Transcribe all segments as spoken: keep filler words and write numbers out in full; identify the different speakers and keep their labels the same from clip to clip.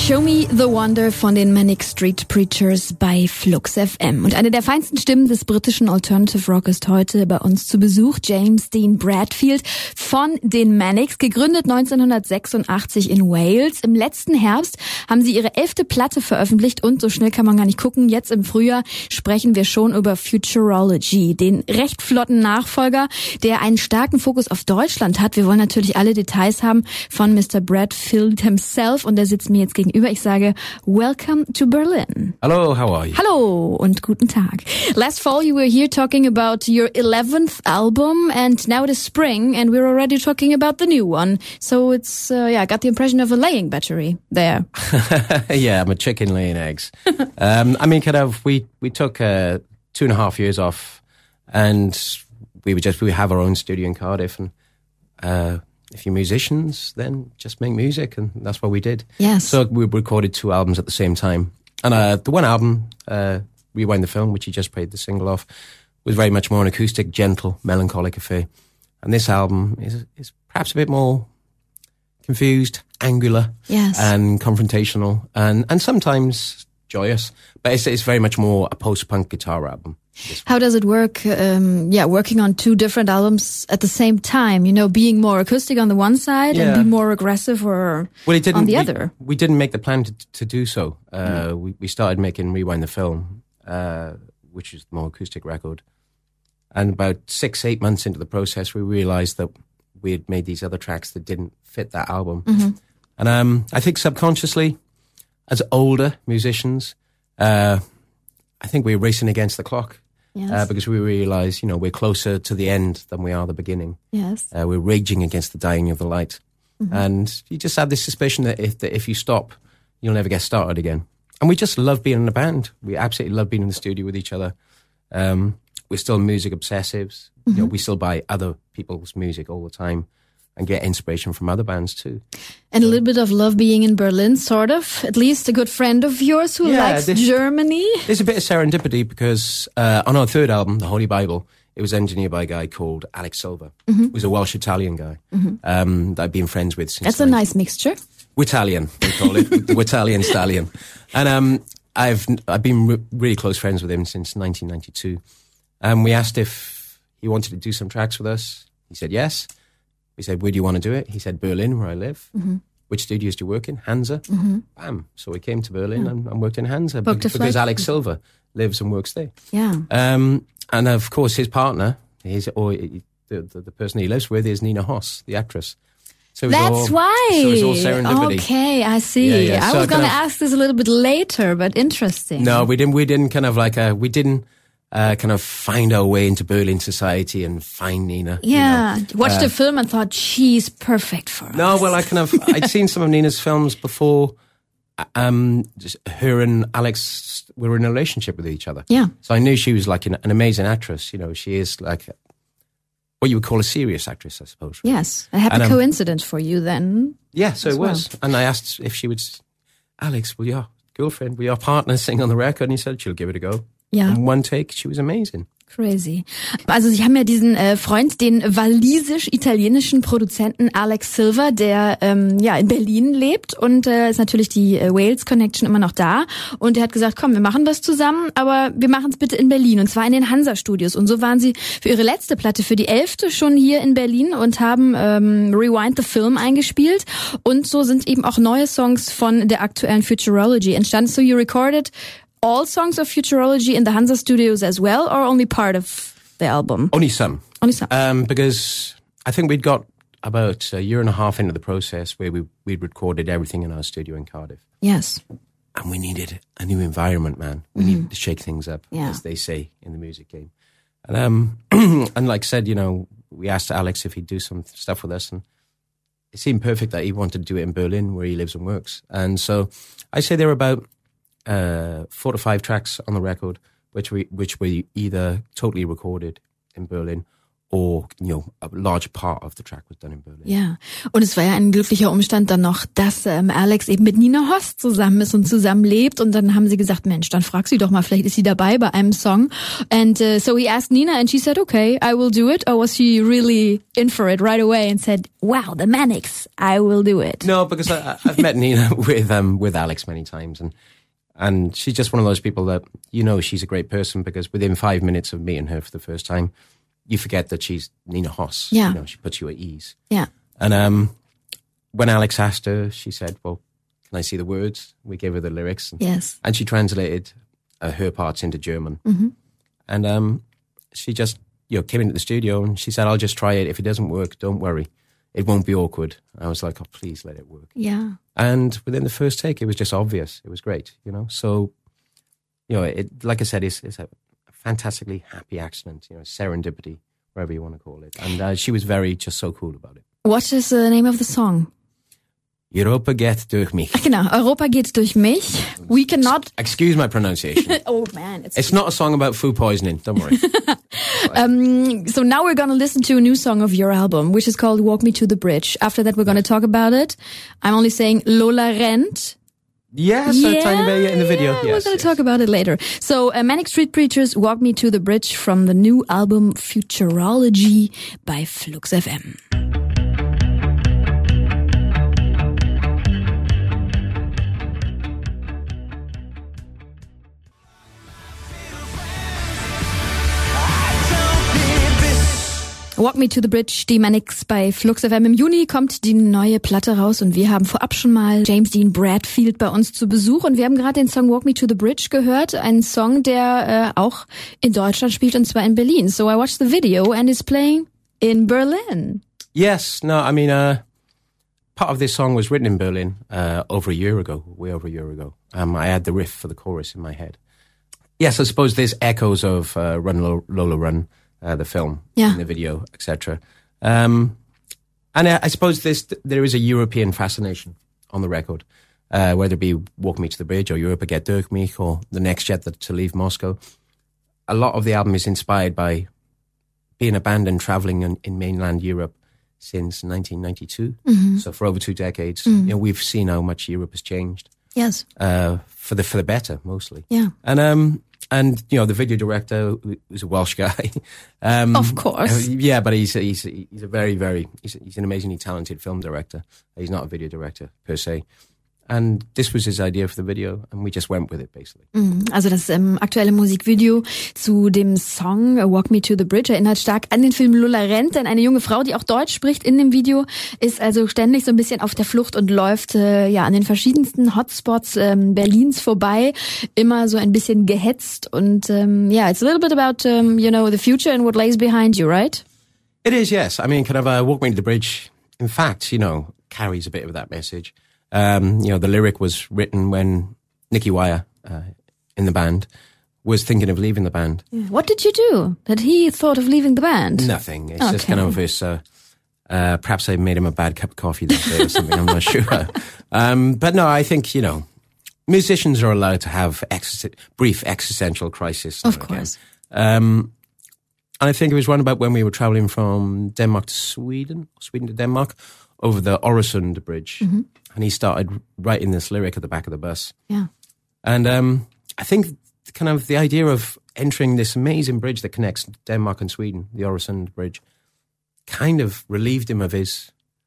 Speaker 1: Show Me the Wonder von den Manic Street Preachers bei Flux F M. Und eine der feinsten Stimmen des britischen Alternative Rock ist heute bei uns zu Besuch. James Dean Bradfield von den Manics, gegründet neunzehnhundertsechsundachtzig in Wales. Im letzten Herbst haben sie ihre elfte Platte veröffentlicht und so schnell kann man gar nicht gucken. Jetzt im Frühjahr sprechen wir schon über Futurology, den recht flotten Nachfolger, der einen starken Fokus auf Deutschland hat. Wir wollen natürlich alle Details haben von Mister Bradfield himself und der sitzt mir jetzt gegenüber. Ich sage, welcome to Berlin.
Speaker 2: Hello, how are you?
Speaker 1: Hallo und guten Tag. Last fall you were here talking about your eleventh album and now it is spring and we're already talking about the new one. So it's, uh, yeah, I got the impression of a laying battery there.
Speaker 2: Yeah, I'm a chicken laying eggs. um, I mean, kind of, we, we took uh, two and a half years off and we would just, we have our own studio in Cardiff and uh, if you're musicians, then just make music, and that's what we did.
Speaker 1: Yes.
Speaker 2: So we recorded two albums at the same time. And uh, the one album, uh, Rewind the Film, which you just played the single off, was very much more an acoustic, gentle, melancholic affair. And this album is, is perhaps a bit more confused, angular,
Speaker 1: yes,
Speaker 2: and confrontational, and, and sometimes joyous. But it's, it's very much more a post-punk guitar album.
Speaker 1: How does it work, um, yeah, working on two different albums at the same time? You know, being more acoustic on the one side
Speaker 2: yeah.
Speaker 1: and be more aggressive or
Speaker 2: well, it didn't,
Speaker 1: on the
Speaker 2: we,
Speaker 1: other?
Speaker 2: We didn't make the plan to, to do so. Uh, mm. we, we started making Rewind the Film, uh, which is the more acoustic record. And about six, eight months into the process, we realized that we had made these other tracks that didn't fit that album.
Speaker 1: Mm-hmm.
Speaker 2: And um, I think subconsciously, as older musicians, uh, I think we were racing against the clock.
Speaker 1: Yes.
Speaker 2: Uh, because we realize, you know, we're closer to the end than we are the beginning.
Speaker 1: Yes.
Speaker 2: Uh, we're raging against the dying of the light. Mm-hmm. And you just have this suspicion that if, that if you stop, you'll never get started again. And we just love being in a band. We absolutely love being in the studio with each other. Um, we're still music obsessives. Mm-hmm. You know, we still buy other people's music all the time and get inspiration from other bands too.
Speaker 1: And a little bit of love being in Berlin, sort of. At least a good friend of yours who
Speaker 2: yeah,
Speaker 1: likes
Speaker 2: this,
Speaker 1: Germany.
Speaker 2: There's a bit of serendipity because uh, on our third album, The Holy Bible, it was engineered by a guy called Alex Silva, mm-hmm. who's a Welsh-Italian guy mm-hmm. um, that I've been friends with since...
Speaker 1: That's a nice mixture.
Speaker 2: Italian, we call it. The Italian stallion. And um, I've I've been re- really close friends with him since nineteen ninety-two. And um, we asked if he wanted to do some tracks with us. He said yes. We said, where do you want to do it? He said, Berlin, where I live. Mm-hmm. Which studios do you work in? Hansa. Mm-hmm. Bam. So we came to Berlin yeah. and, and worked in Hansa
Speaker 1: Booked
Speaker 2: because, because Alex Silva lives and works there.
Speaker 1: Yeah.
Speaker 2: Um, and of course, his partner, his or the, the, the person he lives with is Nina Hoss, the actress. So
Speaker 1: That's
Speaker 2: all,
Speaker 1: why.
Speaker 2: So it was all serendipity.
Speaker 1: Okay, I see.
Speaker 2: Yeah, yeah.
Speaker 1: I
Speaker 2: so
Speaker 1: was going to
Speaker 2: kind of,
Speaker 1: ask this a little bit later, but interesting.
Speaker 2: No, we didn't. We didn't kind of like a. We didn't. Uh, kind of find our way into Berlin society and find Nina.
Speaker 1: Yeah,
Speaker 2: you know.
Speaker 1: watched
Speaker 2: uh,
Speaker 1: the film and thought she's perfect for us.
Speaker 2: No, well, I kind of I'd seen some of Nina's films before. Um, just her and Alex were in a relationship with each other.
Speaker 1: Yeah,
Speaker 2: so I knew she was like an, an amazing actress. You know, she is like what you would call a serious actress, I suppose. Right?
Speaker 1: Yes, a happy and, um, coincidence for you then.
Speaker 2: Yeah, so it was.
Speaker 1: Well.
Speaker 2: And I asked if she would, Alex, will your girlfriend, will your partner sing on the record? And he said she'll give it a go.
Speaker 1: Ja.
Speaker 2: In one take, she was amazing.
Speaker 1: Crazy. Also sie haben ja diesen äh, Freund, den walisisch-italienischen Produzenten Alex Silva, der ähm, ja in Berlin lebt und äh, ist natürlich die äh, Wales-Connection immer noch da. Und er hat gesagt, komm, wir machen das zusammen, aber wir machen es bitte in Berlin und zwar in den Hansa-Studios. Und so waren sie für ihre letzte Platte, für die elfte, schon hier in Berlin und haben ähm, Rewind the Film eingespielt. Und so sind eben auch neue Songs von der aktuellen Futurology entstanden. So you recorded all songs of Futurology in the Hansa Studios as well, or only part of the album?
Speaker 2: Only some.
Speaker 1: Only some.
Speaker 2: Um, because I think we'd got about a year and a half into the process where we we'd recorded everything in our studio in Cardiff.
Speaker 1: Yes.
Speaker 2: And we needed a new environment, man. We mm. needed to shake things up, yeah. as they say in the music game. And um, and like I said, you know, we asked Alex if he'd do some stuff with us, and it seemed perfect that he wanted to do it in Berlin, where he lives and works. And so I say there were about Uh, four to five tracks on the record, which we which we either totally recorded in Berlin or, you know, a large part of the track was done in Berlin.
Speaker 1: Ja, und es war ja ein glücklicher Umstand dann noch, dass ähm, Alex eben mit Nina Hoss zusammen ist und zusammen lebt. Und dann haben sie gesagt, Mensch, dann frag sie doch mal, vielleicht ist sie dabei bei einem Song. And uh, so he asked Nina and she said, okay, I will do it. Or was she really in for it right away and said, wow, the Manics, I will do it?
Speaker 2: No, because I, I've met Nina with um with Alex many times, and and she's just one of those people that, you know, she's a great person because within five minutes of meeting her for the first time, you forget that she's Nina Hoss.
Speaker 1: Yeah.
Speaker 2: You know, she puts you at ease.
Speaker 1: Yeah.
Speaker 2: And um, when Alex asked her, she said, well, can I see the words? We gave her the lyrics. And,
Speaker 1: yes.
Speaker 2: And she translated uh, her parts into German.
Speaker 1: Mm-hmm.
Speaker 2: And um, she just, you know, came into the studio and she said, I'll just try it. If it doesn't work, don't worry. It won't be awkward. I was like, oh, please let it work.
Speaker 1: Yeah.
Speaker 2: And within the first take, it was just obvious. It was great, you know. So, you know, it, like I said, it's, it's a fantastically happy accident, you know, serendipity, whatever you want to call it. And uh, she was very, just so cool about it.
Speaker 1: What is the name of the song?
Speaker 2: Europa geht durch mich.
Speaker 1: Ach genau, Europa geht durch mich. We cannot...
Speaker 2: Excuse my pronunciation.
Speaker 1: Oh man. It's,
Speaker 2: it's not a song about food poisoning, don't worry.
Speaker 1: um, so now we're going to listen to a new song of your album, which is called Walk Me to the Bridge. After that, we're going to talk about it. I'm only saying Lola rennt.
Speaker 2: Yes, yeah, a tiny bit in the video.
Speaker 1: Yeah,
Speaker 2: yes,
Speaker 1: we're going to
Speaker 2: yes.
Speaker 1: talk about it later. So, uh, Manic Street Preachers, Walk Me to the Bridge from the new album Futurology by Flux F M. Walk Me to the Bridge, die Manics bei Flux F M. Im Juni kommt die neue Platte raus und wir haben vorab schon mal James Dean Bradfield bei uns zu Besuch und wir haben gerade den Song Walk Me to the Bridge gehört, ein Song, der äh, auch in Deutschland spielt und zwar in Berlin. So I watched the video and it's playing in Berlin.
Speaker 2: Yes, no, I mean, uh, part of this song was written in Berlin uh, over a year ago, way over a year ago. Um, I had the riff for the chorus in my head. Yes, I suppose there's echoes of uh, Run Lola Run. Uh, the film,
Speaker 1: yeah.
Speaker 2: in the video, et cetera. Um, and I, I suppose this, there is a European fascination on the record, uh, whether it be Walk Me to the Bridge or Europa geht durch mich or The Next Jet to Leave Moscow. A lot of the album is inspired by being a band and traveling in, in mainland Europe since nineteen ninety-two. Mm-hmm. So for over two decades, mm-hmm. you know, we've seen how much Europe has changed.
Speaker 1: Yes.
Speaker 2: Uh, for the for the better, mostly.
Speaker 1: Yeah.
Speaker 2: And um. And, you know, the video director was a Welsh guy. Um,
Speaker 1: of course.
Speaker 2: Yeah, but he's, he's, he's a very, very, he's, he's an amazingly talented film director. He's not a video director per se. And this was his idea for the video, and we just went with it, basically.
Speaker 1: Also das ähm, aktuelle Musikvideo zu dem Song Walk Me to the Bridge erinnert stark an den Film Lola rennt, denn eine junge Frau, die auch Deutsch spricht in dem Video, ist also ständig so ein bisschen auf der Flucht und läuft äh, ja an den verschiedensten Hotspots ähm, Berlins vorbei, immer so ein bisschen gehetzt und ähm, yeah, it's a little bit about um, you know, the future and what lays behind you, right?
Speaker 2: It is, yes. I mean, kind of uh, Walk Me to the Bridge, in fact, you know, carries a bit of that message. Um, you know, the lyric was written when Nicky Wire, uh, in the band, was thinking of leaving the band.
Speaker 1: Yeah. What did you do that he thought of leaving the band?
Speaker 2: Nothing. It's
Speaker 1: okay.
Speaker 2: just kind of this, uh, uh, perhaps I made him a bad cup of coffee that day or something, I'm not sure. Um, but no, I think, you know, musicians are allowed to have ex- brief existential crisis.
Speaker 1: Of course.
Speaker 2: Um, and I think it was one about when we were traveling from Denmark to Sweden, Sweden to Denmark, over the Öresund Bridge. Mm-hmm. And he started writing this lyric at the back of the bus.
Speaker 1: Yeah.
Speaker 2: And um, I think kind of the idea of entering this amazing bridge that connects Denmark and Sweden, the Öresund Bridge, kind of relieved him of his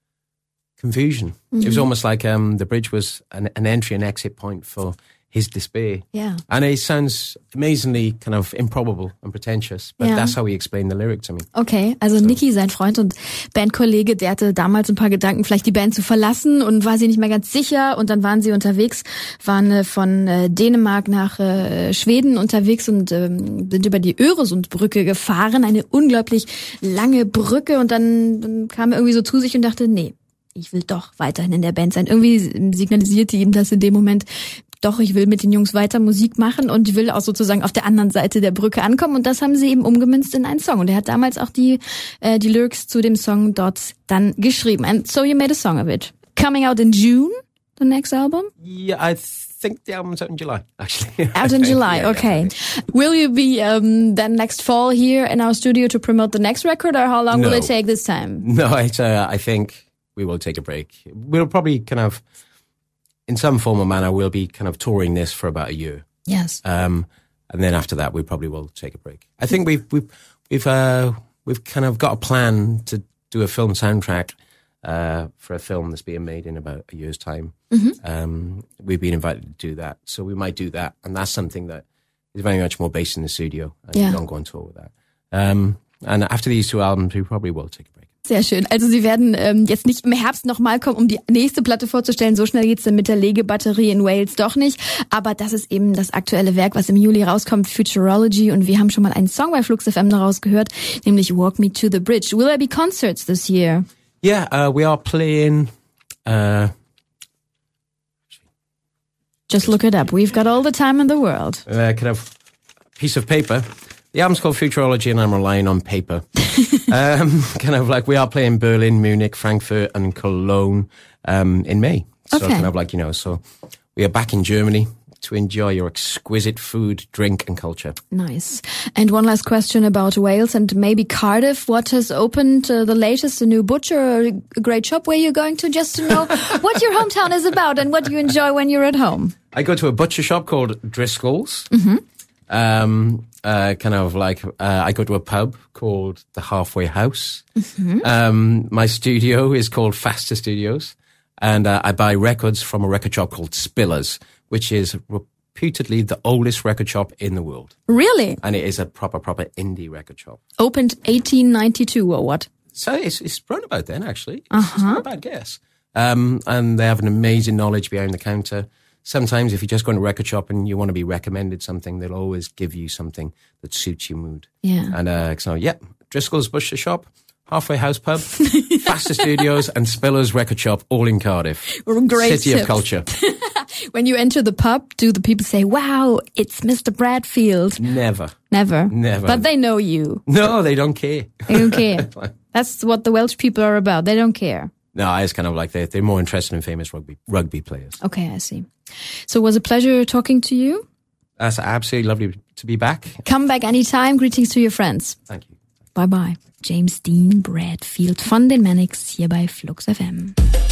Speaker 2: confusion. Mm-hmm. It was almost like um, the bridge was an, an entry and exit point for his despair.
Speaker 1: Yeah.
Speaker 2: And it sounds amazingly kind of improbable and pretentious, but
Speaker 1: yeah.
Speaker 2: that's how he explained the lyric to me.
Speaker 1: Okay, also so. Nicky, sein Freund und Bandkollege, der hatte damals ein paar Gedanken, vielleicht die Band zu verlassen und war sich nicht mehr ganz sicher und dann waren sie unterwegs, waren äh, von äh, Dänemark nach äh, Schweden unterwegs und ähm, sind über die Öresundbrücke gefahren, eine unglaublich lange Brücke und dann, dann kam er irgendwie so zu sich und dachte, nee, ich will doch weiterhin in der Band sein. Irgendwie signalisierte ihm das in dem Moment, doch, ich will mit den Jungs weiter Musik machen und will auch sozusagen auf der anderen Seite der Brücke ankommen. Und das haben sie eben umgemünzt in einen Song. Und er hat damals auch die äh, die Lyrics zu dem Song dort dann geschrieben. And so you made a song of it. Coming out in June, the next album?
Speaker 2: Yeah, I think the album's out in July, actually.
Speaker 1: Out in July,
Speaker 2: yeah,
Speaker 1: okay.
Speaker 2: Yeah,
Speaker 1: will you be um, then next fall here in our studio to promote the next record, or how long
Speaker 2: no.
Speaker 1: will it take this time?
Speaker 2: No, it's, uh, I think we will take a break. We'll probably kind of, in some form or manner, we'll be kind of touring this for about a year.
Speaker 1: Yes.
Speaker 2: Um, and then after that, we probably will take a break. I think we've we've we've uh, we've kind of got a plan to do a film soundtrack uh, for a film that's being made in about a year's time.
Speaker 1: Mm-hmm.
Speaker 2: Um, we've been invited to do that, so we might do that, and that's something that is very much more based in the studio, and
Speaker 1: yeah.
Speaker 2: we don't go on tour with that. Um, and after these two albums, we probably will take a break.
Speaker 1: Sehr schön. Also Sie werden ähm, jetzt nicht im Herbst nochmal kommen, um die nächste Platte vorzustellen. So schnell geht's dann mit der Legebatterie in Wales doch nicht. Aber das ist eben das aktuelle Werk, was im Juli rauskommt, Futurology. Und wir haben schon mal einen Song bei Flux F M daraus gehört, nämlich Walk Me to the Bridge. Will there be concerts this year?
Speaker 2: Yeah, uh, we are playing... Uh,
Speaker 1: Just look it up. We've got all the time in the world.
Speaker 2: Uh, kind of piece of paper. The album's called Futurology, and I'm relying on paper. um, kind of like we are playing Berlin, Munich, Frankfurt, and Cologne um, in May. So
Speaker 1: okay.
Speaker 2: kind of like, you know, so we are back in Germany to enjoy your exquisite food, drink, and culture.
Speaker 1: Nice. And one last question about Wales and maybe Cardiff. What has opened uh, the latest? A new butcher or a great shop where you're going to, just to know what your hometown is about and what you enjoy when you're at home?
Speaker 2: I go to a butcher shop called Driscoll's.
Speaker 1: Mm-hmm.
Speaker 2: Um, uh, kind of like, uh, I go to a pub called The Halfway House.
Speaker 1: Mm-hmm.
Speaker 2: Um, my studio is called Faster Studios. And uh, I buy records from a record shop called Spillers, which is reputedly the oldest record shop in the world.
Speaker 1: Really?
Speaker 2: And it is a proper, proper indie record shop.
Speaker 1: Opened eighteen ninety-two or what?
Speaker 2: So it's, it's run about then, actually. It's,
Speaker 1: uh-huh.
Speaker 2: it's not a bad guess. Um, and they have an amazing knowledge behind the counter. Sometimes if you just go in a record shop and you want to be recommended something, they'll always give you something that suits your mood.
Speaker 1: Yeah.
Speaker 2: And uh, so, yeah, Driscoll's Butcher Shop, Halfway House Pub, Faster Studios, and Spiller's Record Shop, all in Cardiff.
Speaker 1: Great
Speaker 2: City
Speaker 1: tips.
Speaker 2: of culture.
Speaker 1: When you enter the pub, do the people say, wow, it's Mister Bradfield?
Speaker 2: Never.
Speaker 1: Never?
Speaker 2: Never.
Speaker 1: But they know you.
Speaker 2: No, they don't care.
Speaker 1: They don't care. That's what the Welsh people are about. They don't care.
Speaker 2: No, it's kind of like they're, they're more interested in famous rugby rugby players.
Speaker 1: Okay, I see. So it was a pleasure talking to you.
Speaker 2: That's absolutely lovely to be back.
Speaker 1: Come back anytime. Greetings to your friends.
Speaker 2: Thank you.
Speaker 1: Bye bye. James Dean Bradfield von den Manics hier bei Flux F M.